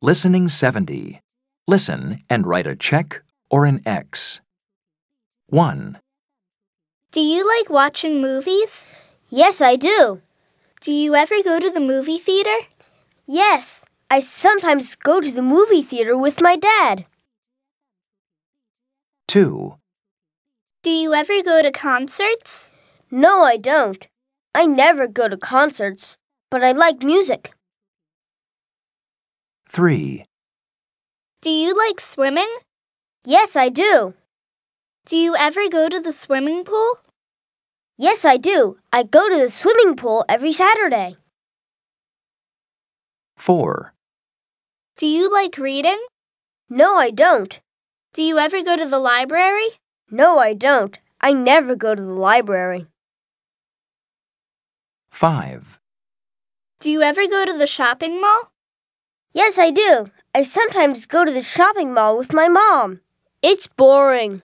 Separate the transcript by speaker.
Speaker 1: Listening 70. Listen and write a check or an X. 1,
Speaker 2: Do you like watching movies?
Speaker 3: Yes, I do.
Speaker 2: Do you ever go to the movie theater?
Speaker 3: Yes, I sometimes go to the movie theater with my dad.
Speaker 1: 2,
Speaker 2: Do you ever go to concerts?
Speaker 3: No, I don't. I never go to concerts, but I like music.
Speaker 1: 3,
Speaker 2: Do you like swimming?
Speaker 3: Yes, I do.
Speaker 2: Do you ever go to the swimming pool?
Speaker 3: Yes, I do. I go to the swimming pool every Saturday.
Speaker 1: 4,
Speaker 2: Do you like reading?
Speaker 3: No, I don't.
Speaker 2: Do you ever go to the library?
Speaker 3: No, I don't. I never go to the library.
Speaker 1: 5,
Speaker 2: Do you ever go to the shopping mall?
Speaker 3: Yes, I do. I sometimes go to the shopping mall with my mom. It's boring.